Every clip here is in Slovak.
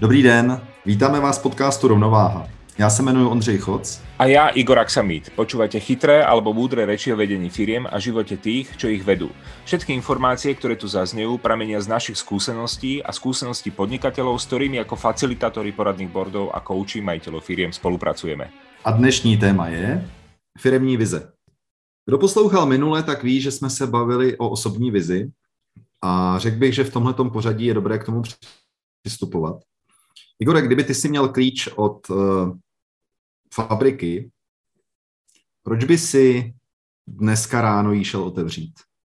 Dobrý den, vítáme vás v podcastu Rovnováha. Ja sa jmenuji Ondřej Choc. A ja Igor Aksamit. Počúvate chytré alebo múdre reči o vedení firiem a živote tých, čo ich vedú. Všetky informácie, ktoré tu zaznejú, pramenia z našich skúseností a skúseností podnikateľov, s ktorými ako facilitátori poradných boardov a kouči majiteľov firiem spolupracujeme. A dnešní téma je firemní vize. Kdo poslouchal minule, tak ví, že jsme se bavili o osobní vizi a řekl bych, že v tomhletom pořadí je dobré k tomu přistupovat. Igore, kdyby ty si měl klíč od fabriky, proč by si dneska ráno jí šel otevřít?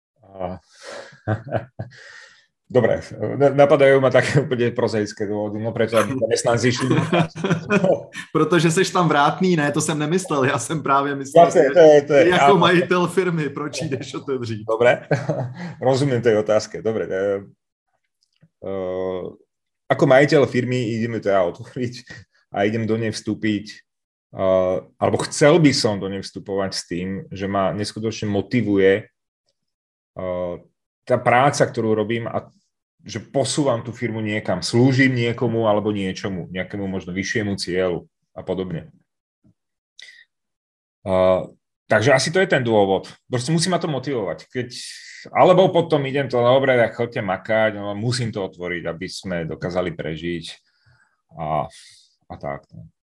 Dobre, napadajú ma také úplne prozaické dôvody, no preto aby zamestnanci šli. Protože seš tam vrátný, ne, to jsem nemyslel, já jsem právě myslel, to je, jako majitel firmy, proč jdeš otevřít? Dobre, rozumiem tej otázke, dobre. Ako majiteľ firmy ideme teda otvoriť a idem do nej vstúpiť, alebo chcel by som do nej vstupovať s tým, že ma neskutočne motivuje tá práca, ktorú robím a že posúvam tú firmu niekam, slúžim niekomu alebo niečomu, nejakému možno vyššiemu cieľu a podobne. Takže asi to je ten dôvod. Proste musí ma to motivovať. Alebo potom idem to, dobre, tak choďte makať, no, musím to otvoriť, aby sme dokázali prežiť a tak.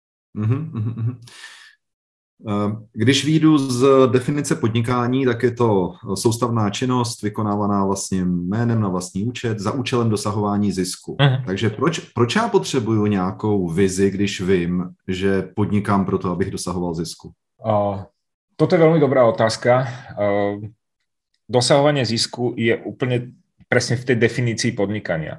Když výjdu z definice podnikání, tak je to soustavná činnost vykonávaná vlastně jménem na vlastní účet za účelem dosahování zisku. Takže proč já potřebuju nějakou vizi, když vím, že podnikám proto, abych dosahoval zisku? Toto je veľmi dobrá otázka. Dosahovanie zisku je úplne presne v tej definícii podnikania.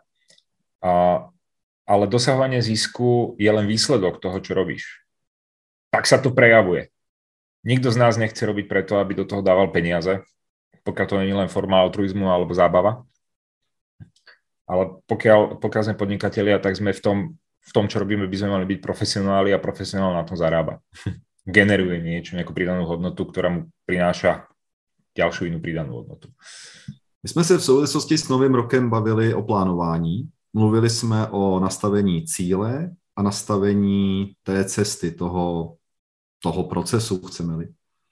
Ale dosahovanie zisku je len výsledok toho, čo robíš. Tak sa to prejavuje. Nikto z nás nechce robiť preto, aby do toho dával peniaze, pokiaľ to nie je len forma altruizmu alebo zábava. Ale pokiaľ sme podnikatelia, tak sme v tom, čo robíme, by sme mali byť profesionáli a profesionál na tom zarába. Generuje niečo, nejakú pridanú hodnotu, ktorá mu prináša ďalšiu inú pridanú hodnotu. My jsme se v souvislosti s Novým rokem bavili o plánování. Mluvili jsme o nastavení cíle a nastavení té cesty, toho procesu, chceme-li.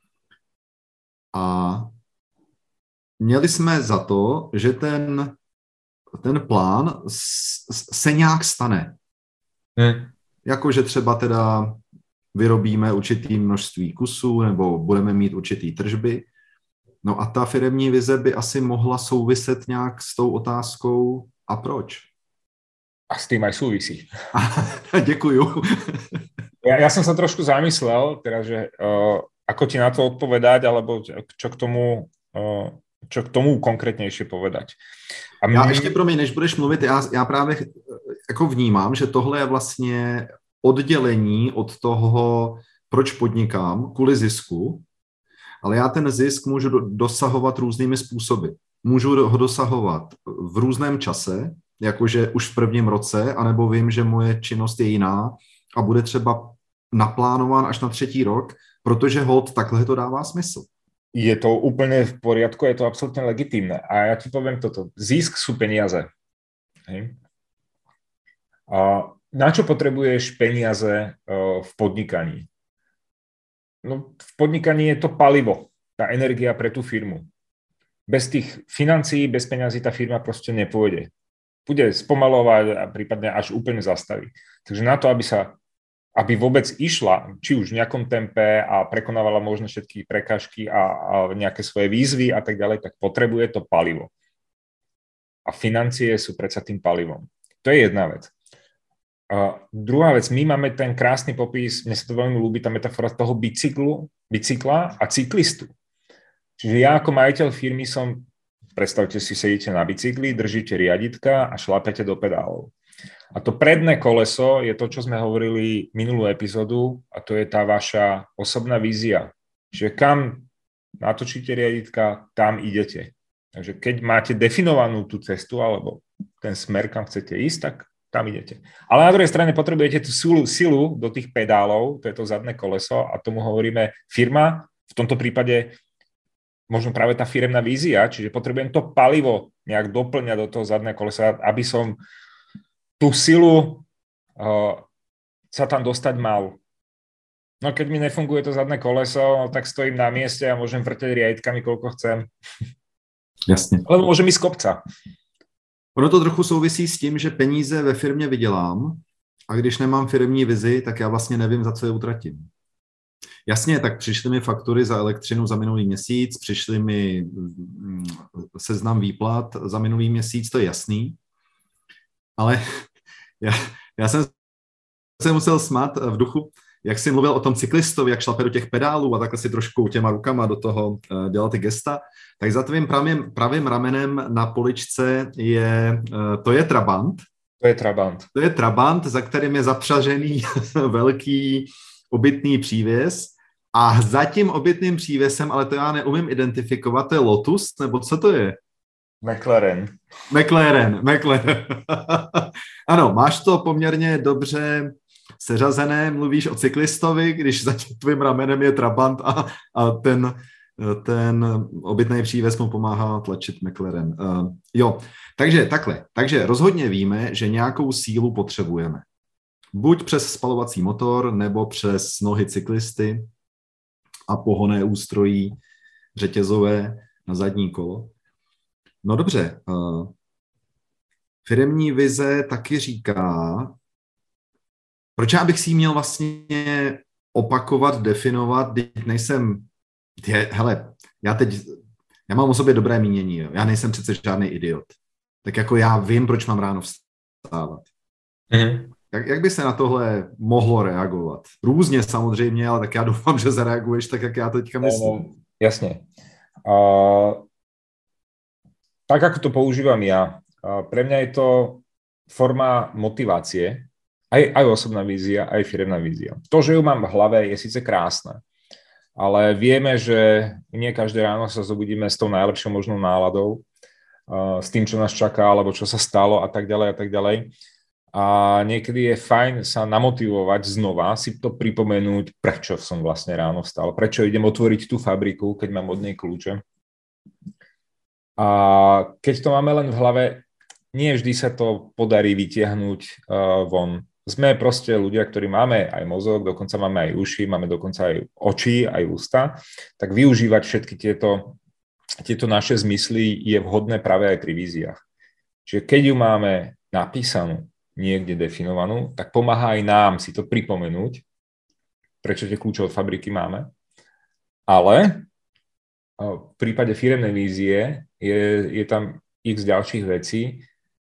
A měli jsme za to, že ten plán se nějak stane. Jakože třeba teda vyrobíme určitý množství kusů nebo budeme mít určitý tržby. No a ta firemní vize by asi mohla souviset nějak s tou otázkou a proč? A s tým aj súvisí. Děkuju. Ja som sa trošku zamyslel, teda, že ako ti na to odpovedať, alebo čo k tomu konkrétnejšie povedať. Já ještě promiň, než budeš mluvit, já právě jako vnímám, že tohle je vlastně oddělení od toho, proč podnikám, kvůli zisku, ale já ten zisk můžu dosahovat různými způsoby. Můžu ho dosahovat v různém čase, jakože už v prvním roce, anebo vím, že moje činnost je jiná a bude třeba naplánován až na 3. rok, protože hod takhle to dává smysl. Je to úplne v poriadku, je to absolútne legitímne. A ja ti poviem toto. Zisk sú peniaze. Hej. A na čo potrebuješ peniaze v podnikaní? No, v podnikaní je to palivo, tá energia pre tú firmu. Bez tých financií, bez peňazí tá firma proste nepôjde. Bude spomalovať a prípadne až úplne zastaví. Takže na to, aby vôbec išla, či už v nejakom tempe a prekonávala možno všetky prekážky a nejaké svoje výzvy a tak ďalej, tak potrebuje to palivo. A financie sú predsa tým palivom. To je jedna vec. Druhá vec, my máme ten krásny popis, mne sa to veľmi ľúbi, tá metafora toho bicykla a cyklistu. Čiže ja ako majiteľ firmy predstavte si, sedíte na bicykli, držíte riaditka a šlapete do pedálov. A to predné koleso je to, čo sme hovorili minulú epizódu, a to je tá vaša osobná vízia. Čiže kam natočíte riaditka, tam idete. Takže keď máte definovanú tú cestu alebo ten smer, kam chcete ísť, tak tam idete. Ale na druhej strane potrebujete tú silu do tých pedálov, to je to zadné koleso a tomu hovoríme firma, v tomto prípade možno práve tá firemná vízia, čiže potrebujem to palivo nejak doplňať do toho zadného kolesa, aby som tú silu sa tam dostať mal. No keď mi nefunguje to zadné koleso, tak stojím na mieste a môžem vrteť riadkami, koľko chcem. Jasně. Lebo môžem ísť z kopca. Ono to trochu souvisí s tím, že peníze ve firmě vydělám a když nemám firmní vizi, tak já vlastně nevím, za co je utratím. Jasně, tak přišly mi faktury za elektřinu za minulý měsíc, přišly mi seznam výplat za minulý měsíc, to je jasný, ale já jsem se musel smát v duchu, jak jsi mluvil o tom cyklistovi, jak šlape do těch pedálů a takhle si trošku těma rukama do toho dělal ty gesta, tak za tvým pravým ramenem na poličce to je Trabant. To je Trabant. To je Trabant, za kterým je zapřažený velký obytný přívěs a za tím obytným přívěsem, ale to já neumím identifikovat, to je Lotus, nebo co to je? McLaren. Ano, máš to poměrně dobře seřazené, mluvíš o cyklistovi, když za tvým ramenem je Trabant a ten obytný přívěs mu pomáhá tlačit McLaren. Jo, takže takhle. Takže rozhodně víme, že nějakou sílu potřebujeme. Buď přes spalovací motor, nebo přes nohy cyklisty a pohonné ústrojí řetězové na zadní kolo. No dobře, firemní vize taky říká, proč já bych si ji měl vlastně opakovat, definovat, když nejsem, hele, já mám o sobě dobré mínění, jo. Já nejsem přece žádný idiot. Tak jako já vím, proč mám ráno vstávat. Mhm. Jak by se na tohle mohlo reagovat? Různě samozřejmě, ale tak já doufám, že zareaguješ tak, jak já teďka myslím. No, jasne. Tak, ako to používam ja, pre mňa je to forma motivácie, aj osobná vízia, aj firemná vízia. To, že ju mám v hlave, je síce krásne, ale vieme, že nie každé ráno sa zobudíme s tou najlepšou možnou náladou, s tým, čo nás čaká, alebo čo sa stalo a tak ďalej a tak ďalej. A niekedy je fajn sa namotivovať znova, si to pripomenúť, prečo som vlastne ráno vstal, prečo idem otvoriť tú fabriku, keď mám od nej kľúče. A keď to máme len v hlave, nie vždy sa to podarí vytiahnuť von. Sme proste ľudia, ktorí máme aj mozog, dokonca máme aj uši, máme dokonca aj oči, aj ústa, tak využívať všetky tieto naše zmysly je vhodné práve aj pri víziách. Čiže keď ju máme napísanú, niekde definovanú, tak pomáha aj nám si to pripomenúť, prečo tie kľúče od fabriky máme. Ale v prípade firemnej vízie je tam x ďalších vecí.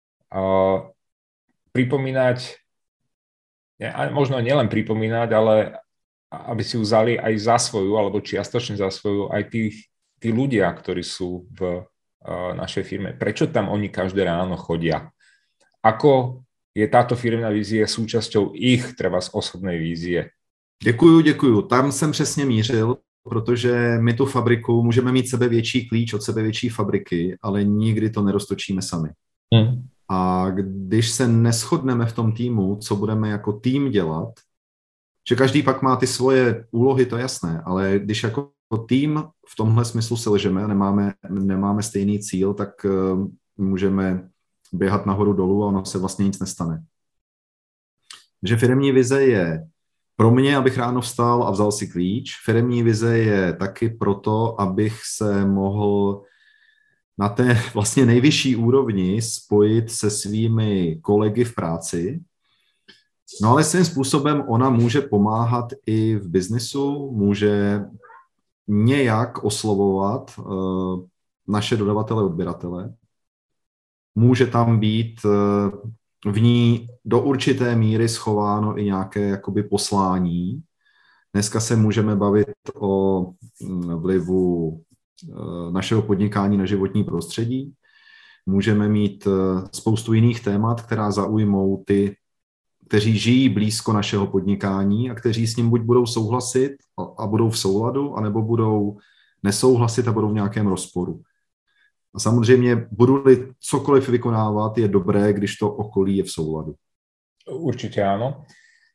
Pripomínať, možno nielen pripomínať, ale aby si ju vzali aj za svoju, alebo čiastočne za svoju, aj tí ľudia, ktorí sú v našej firme. Prečo tam oni každé ráno chodia? Ako je táto firemná vízie súčasťou ich třeba z osobnej vízie? Děkuju. Tam jsem přesně mířil, protože my tu fabriku můžeme mít sebevětší klíč od sebevětší fabriky, ale nikdy to neroztočíme sami. A když se neshodneme v tom týmu, co budeme jako tým dělat, že každý pak má ty svoje úlohy, to je jasné, ale když jako tým v tomhle smyslu selžeme a nemáme stejný cíl, tak můžeme běhat nahoru dolů a ono se vlastně nic nestane. Že firemní vize je pro mě, abych ráno vstal a vzal si klíč. Firemní vize je taky proto, abych se mohl na té vlastně nejvyšší úrovni spojit se svými kolegy v práci. No ale svým způsobem ona může pomáhat i v biznisu, může nějak oslovovat naše dodavatele, odběratele. Může tam být v ní do určité míry schováno i nějaké jakoby poslání. Dneska se můžeme bavit o vlivu našeho podnikání na životní prostředí. Můžeme mít spoustu jiných témat, která zaujmou ty, kteří žijí blízko našeho podnikání a kteří s ním buď budou souhlasit a budou v souladu, anebo budou nesouhlasit a budou v nějakém rozporu. A samozřejmě, budu-li cokoliv vykonávat, je dobré, když to okolí je v souladu. Určite áno.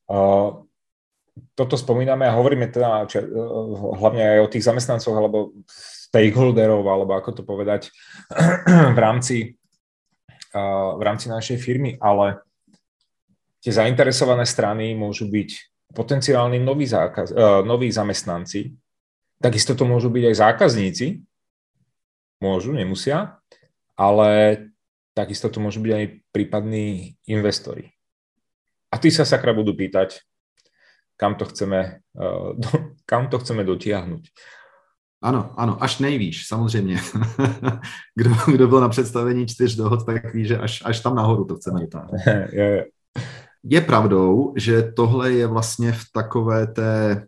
Toto spomíname a hovoríme teda hlavne aj o tých zamestnancoch alebo stakeholderov, alebo ako to povedať, v rámci našej firmy, ale tie zainteresované strany môžu byť potenciálni noví zamestnanci, takisto to môžu byť aj zákazníci, môžu, nemusia, ale takisto to môžu byť aj prípadní investori. A tí sa sakra budú pýtať, kam to chceme dotiahnuť. Ano, až nejvíš, samozřejmě. Kdo byl na představení 4 dohod, tak ví, že až tam nahoru to chceme dotáhnout. Je pravdou, že tohle je vlastně v takové té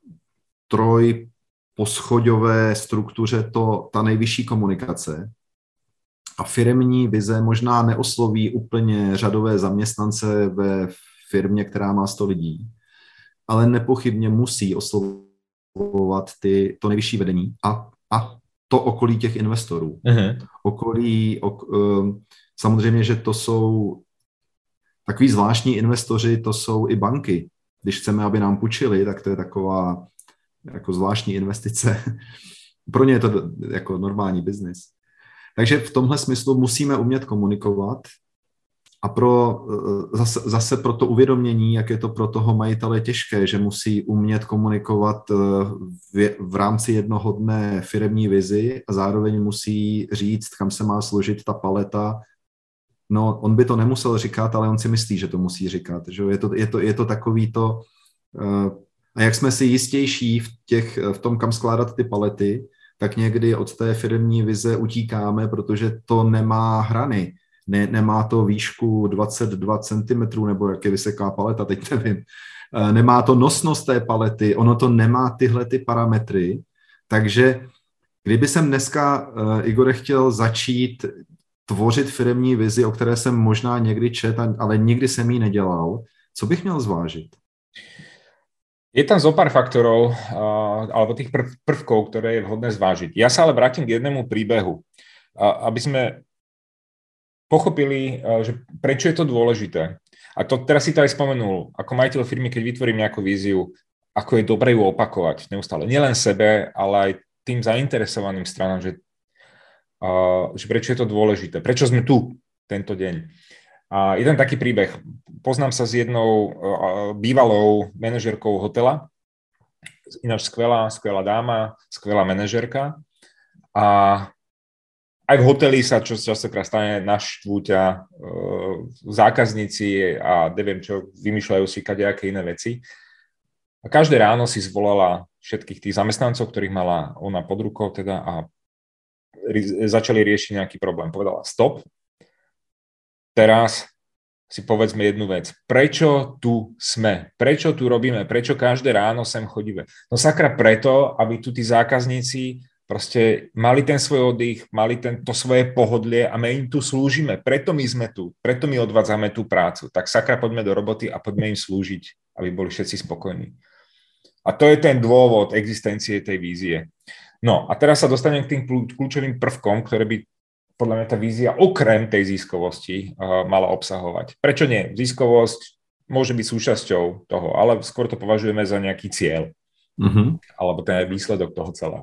trojposchoďové struktuře ta nejvyšší komunikace. A firemní vize možná neosloví úplně řadové zaměstnance ve firmě, která má 100 lidí, ale nepochybně musí oslovovat to nejvyšší vedení a to okolí těch investorů. Samozřejmě, že to jsou takový zvláštní investoři, to jsou i banky. Když chceme, aby nám půjčili, tak to je taková jako zvláštní investice. Pro ně je to jako normální biznis. Takže v tomhle smyslu musíme umět komunikovat a zase pro to uvědomění, jak je to pro toho majitele těžké, že musí umět komunikovat v rámci jednohodné firemní vizi a zároveň musí říct, kam se má složit ta paleta. No, on by to nemusel říkat, ale on si myslí, že to musí říkat. Že? Je to takový to... A jak jsme si jistější v tom, kam skládat ty palety, tak někdy od té firemní vize utíkáme, protože to nemá hrany. Nemá to výšku 22 cm, nebo jak je vysoká paleta, teď nevím. Nemá to nosnost té palety, ono to nemá tyhle ty parametry. Takže kdyby jsem dneska, Igore, chtěl začít tvořit firemní vizi, o které jsem možná někdy četl, ale nikdy jsem ji nedělal, co bych měl zvážit? Je tam zo pár faktorov, alebo tých prvkov, ktoré je vhodné zvážiť. Ja sa ale vrátim k jednému príbehu, aby sme pochopili, že prečo je to dôležité. A to teraz si to aj spomenul, ako majiteľ firmy, keď vytvorím nejakú víziu, ako je dobre ju opakovať neustále. Nielen sebe, ale aj tým zainteresovaným stranám, že prečo je to dôležité. Prečo sme tu tento deň. A jeden taký príbeh. Poznám sa s jednou bývalou manažérkou hotela, ináč skvelá dáma, skvelá manažérka. A aj v hoteli sa častokrát stane, naštvú ťa zákazníci a neviem čo, vymýšľajú si kadejaké iné veci. A každé ráno si zvolala všetkých tých zamestnancov, ktorých mala ona pod rukou teda a začali riešiť nejaký problém. Povedala stop. Teraz si povedzme jednu vec. Prečo tu sme? Prečo tu robíme? Prečo každé ráno sem chodíme? No sakra preto, aby tu tí zákazníci proste mali ten svoj oddych, mali to svoje pohodlie a my im tu slúžime. Preto my sme tu. Preto my odvádzame tú prácu. Tak sakra poďme do roboty a poďme im slúžiť, aby boli všetci spokojní. A to je ten dôvod existencie tej vízie. No a teraz sa dostanem k tým kľúčovým prvkom, ktoré by podľa mňa tá vízia okrem tej ziskovosti mala obsahovať. Prečo nie? Ziskovosť môže byť súčasťou toho, ale skôr to považujeme za nejaký cieľ. Alebo ten výsledok toho celého.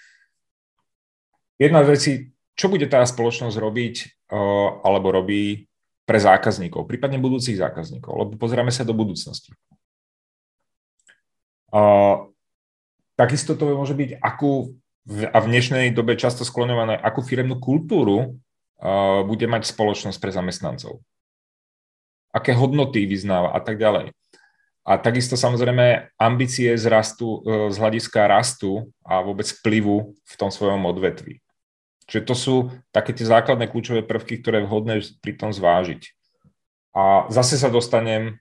Jedna z vecí, čo bude tá spoločnosť robiť alebo robí pre zákazníkov, prípadne budúcich zákazníkov, lebo pozeráme sa do budúcnosti. Takisto to môže byť a v dnešnej dobe často skloňované, akú firemnú kultúru bude mať spoločnosť pre zamestnancov. Aké hodnoty vyznáva a tak ďalej. A takisto samozrejme ambície z hľadiska rastu a vôbec vplyvu v tom svojom odvetví. Čiže to sú také tie základné kľúčové prvky, ktoré je vhodné pri tom zvážiť. A zase sa dostanem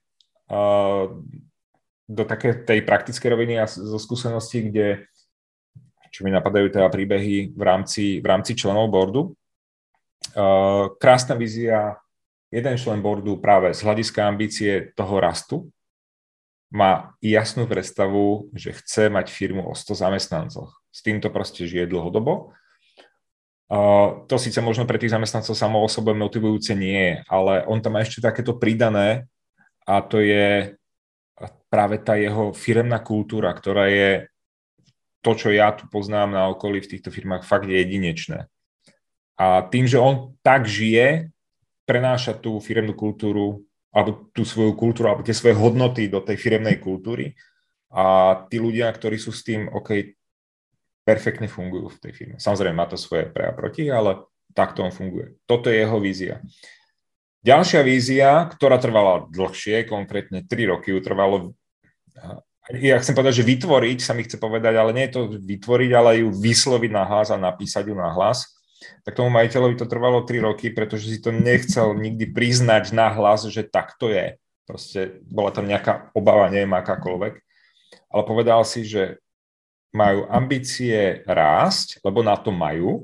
do také tej praktickej roviny a zo skúseností, kde čo mi napadajú teda príbehy v rámci členov boardu. Krásna vízia, jeden člen boardu práve z hľadiska ambície toho rastu má jasnú predstavu, že chce mať firmu o 100 zamestnancoch. S týmto proste žije dlhodobo. To síce možno pre tých zamestnancov samo o sebe motivujúce nie je, ale on tam má ešte takéto pridané a to je práve tá jeho firemná kultúra, ktorá je to, čo ja tu poznám na okolí v týchto firmách, fakt je jedinečné. A tým, že on tak žije, prenáša tú firemnú kultúru alebo tú svoju kultúru, alebo tie svoje hodnoty do tej firemnej kultúry a tí ľudia, ktorí sú s tým, OK, perfektne fungujú v tej firme. Samozrejme, má to svoje pre a proti, ale takto on funguje. Toto je jeho vízia. Ďalšia vízia, ktorá trvala dlhšie, konkrétne 3 roky, ju trvalo, ja chcem povedať, že vytvoriť, sa mi chce povedať, ale nie je to vytvoriť, ale ju vysloviť na hlas a napísať ju na hlas. Tak tomu majiteľovi to trvalo 3 roky, pretože si to nechcel nikdy priznať na hlas, že tak to je. Proste bola tam nejaká obava, neviem akákoľvek. Ale povedal si, že majú ambície rásť, lebo na to majú.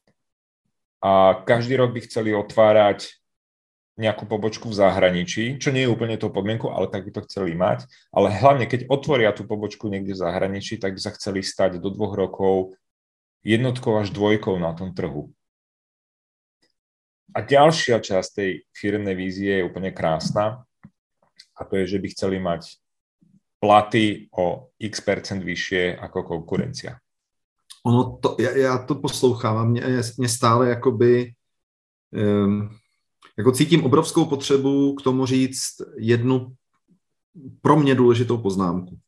A každý rok by chceli otvárať nejakú pobočku v zahraničí, čo nie je úplne tou podmienkou, ale tak by to chceli mať. Ale hlavne, keď otvoria tú pobočku niekde v zahraničí, tak by sa chceli stať do 2 rokov 1 až 2 na tom trhu. A ďalšia časť tej firemnej vízie je úplne krásna a to je, že by chceli mať platy o x% vyššie ako konkurencia. Ono to, já to poslouchám, mě stále jakoby jako cítím obrovskou potřebu k tomu říct jednu pro mě důležitou poznámku.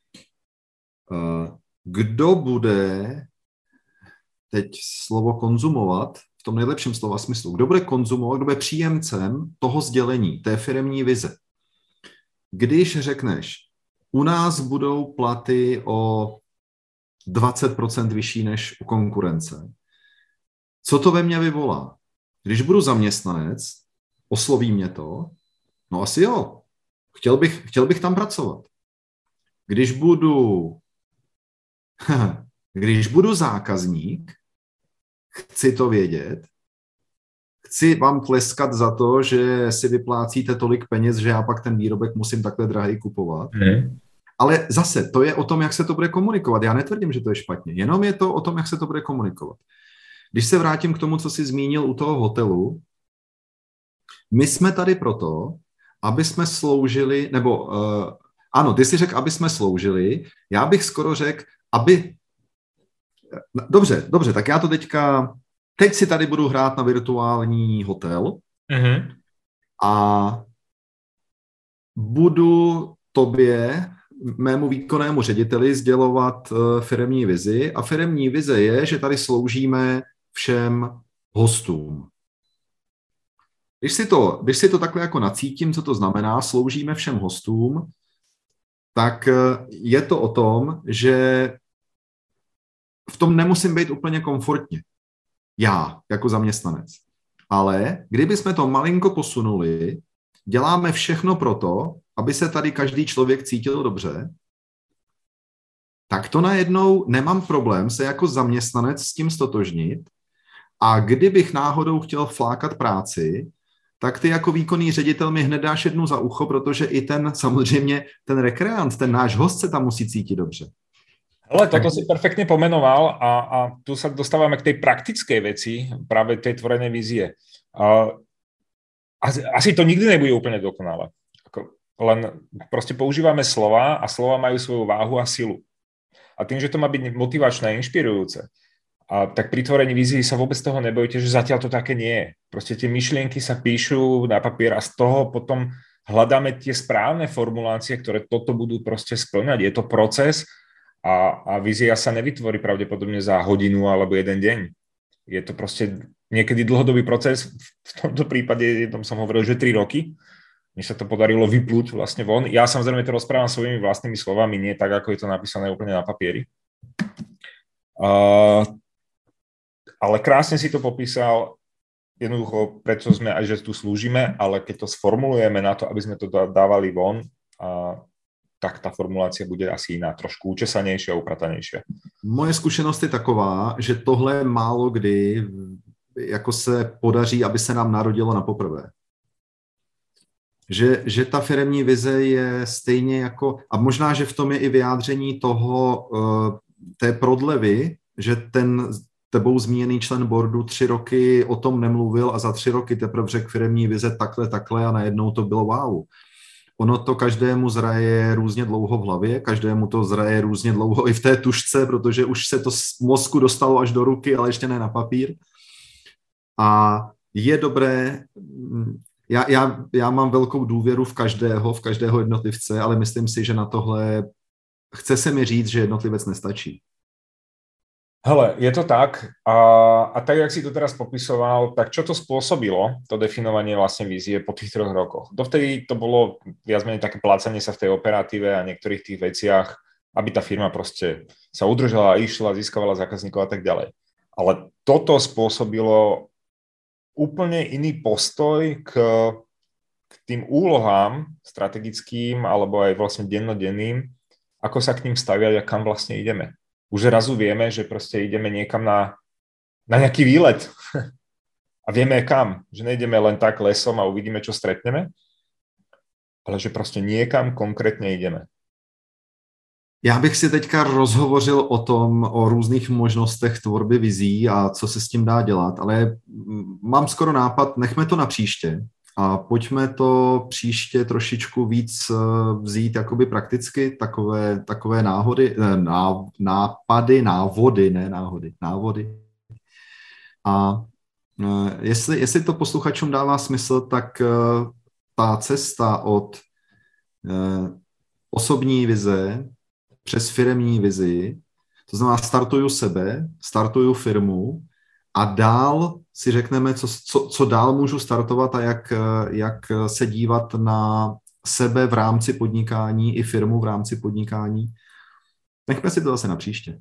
Kdo bude teď slovo konzumovat v tom nejlepším slova smyslu? Kdo bude konzumovat, kdo bude příjemcem toho sdělení, té firemní vize? Když řekneš, u nás budou platy o 20% vyšší než u konkurence, co to ve mně vyvolá? Když budu zaměstnanec, osloví mě to, no asi jo, chtěl bych tam pracovat. Když budu zákazník, chci to vědět, chci vám tleskat za to, že si vyplácíte tolik peněz, že já pak ten výrobek musím takhle drahý kupovat. Ale zase, to je o tom, jak se to bude komunikovat. Já netvrdím, že to je špatně, jenom je to o tom, jak se to bude komunikovat. Když se vrátím k tomu, co jsi zmínil u toho hotelu, my jsme tady proto, aby jsme sloužili, nebo ano, ty jsi řekl, aby jsme sloužili, já bych skoro řekl, aby... Dobře, tak já to teď si tady budu hrát na virtuální hotel a budu tobě, mému výkonnému řediteli, sdělovat firemní vizi a firemní vize je, že tady sloužíme všem hostům. Když si to takhle jako nacítím, co to znamená, sloužíme všem hostům, tak je to o tom, že v tom nemusím být úplně komfortně. Já, jako zaměstnanec. Ale kdybychom to malinko posunuli, děláme všechno proto, aby se tady každý člověk cítil dobře, tak to najednou nemám problém se jako zaměstnanec s tím stotožnit a kdybych náhodou chtěl flákat práci, tak ty jako výkonný ředitel mi hned dáš jednu za ucho, protože i samozřejmě ten rekreant, ten náš host se tam musí cítit dobře. Ale toto si perfektne pomenoval a tu sa dostávame k tej praktickej veci, práve tej tvorenej vízie. Asi to nikdy nebude úplne dokonalé. Len proste používame slova a slova majú svoju váhu a silu. A tým, že to má byť motivačné a inšpirujúce, tak pri tvorení vízie sa vôbec toho nebojte, že zatiaľ to také nie je. Proste tie myšlienky sa píšu na papier a z toho potom hľadáme tie správne formulácie, ktoré toto budú proste spĺňať. Je to proces a vízia sa nevytvorí pravdepodobne za hodinu alebo 1 deň. Je to proste niekedy dlhodobý proces. V tomto prípade jednom som hovoril, že 3 roky. Mne sa to podarilo vyplúť vlastne von. Ja samozrejme to rozprávam svojimi vlastnými slovami, nie tak, ako je to napísané úplne na papieri. Ale krásne si to popísal, jednoducho, prečo sme aj, že tu slúžime, ale keď to sformulujeme na to, aby sme to dávali von, tak ta formulácia bude asi jiná, trošku učesanější a upratanejší. Moje zkušenost je taková, že tohle málo kdy jako se podaří, aby se nám narodilo na poprvé. Že ta firemní vize je stejně jako, a možná, že v tom je i vyjádření toho, té prodlevy, že ten tebou zmíněný člen boardu 3 roky o tom nemluvil a za 3 roky teprve řekl firemní vize takhle a najednou to bylo wow. Ono to každému zraje různě dlouho v hlavě, každému to zraje různě dlouho i v té tužce, protože už se to z mozku dostalo až do ruky, ale ještě ne na papír. A je dobré, Já mám velkou důvěru v každého jednotlivce, ale myslím si, že na tohle chce se mi říct, že jednotlivec nestačí. Hele, je to tak a tak, jak si to teraz popisoval, tak čo to spôsobilo, to definovanie vlastne vízie po tých 3 rokoch? Dovtedy to bolo viac menej také plácanie sa v tej operatíve a niektorých tých veciach, aby tá firma proste sa udržala, išla, získavala zákazníkov a tak ďalej. Ale toto spôsobilo úplne iný postoj k tým úlohám strategickým alebo aj vlastne dennodenným, ako sa k ním staviať a kam vlastne ideme. Už zrazu vieme, že proste ideme niekam na nejaký výlet a vieme kam, že nejdeme len tak lesom a uvidíme, čo stretneme, ale že proste niekam konkrétne ideme. Já bych si teďka rozhovořil o různých možnostech tvorby vizí a co se s tím dá dělat, ale mám skoro nápad, nechme to na příště a pojďme to příště trošičku víc vzít jakoby prakticky, takové návody. A jestli to posluchačům dává smysl, tak ta cesta od osobní vize přes firemní vizi, to znamená startuju sebe, startuju firmu a dál si řekneme, co dál můžu startovat a jak se dívat na sebe v rámci podnikání i firmu v rámci podnikání. Nechme si to zase na příště.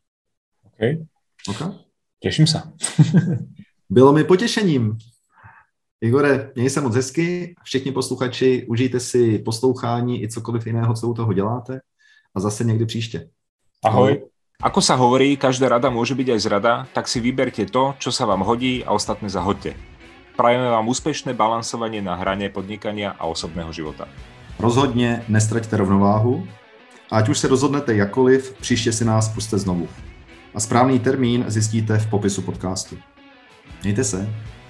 OK. Těším se. Bylo mi potěšením. Igore, měj se moc hezky. Všichni posluchači, užijte si poslouchání i cokoliv jiného, co u toho děláte. A zase někdy příště. Ahoj. Ako sa hovorí, každá rada môže byť aj zrada, tak si vyberte to, čo sa vám hodí a ostatné zahoďte. Prajeme vám úspešné balansovanie na hrane podnikania a osobného života. Rozhodně nestraťte rovnováhu. Ať už se rozhodnete jakkoliv, příště si nás pusťte znovu. A správný termín zjistíte v popisu podcastu. Mějte se.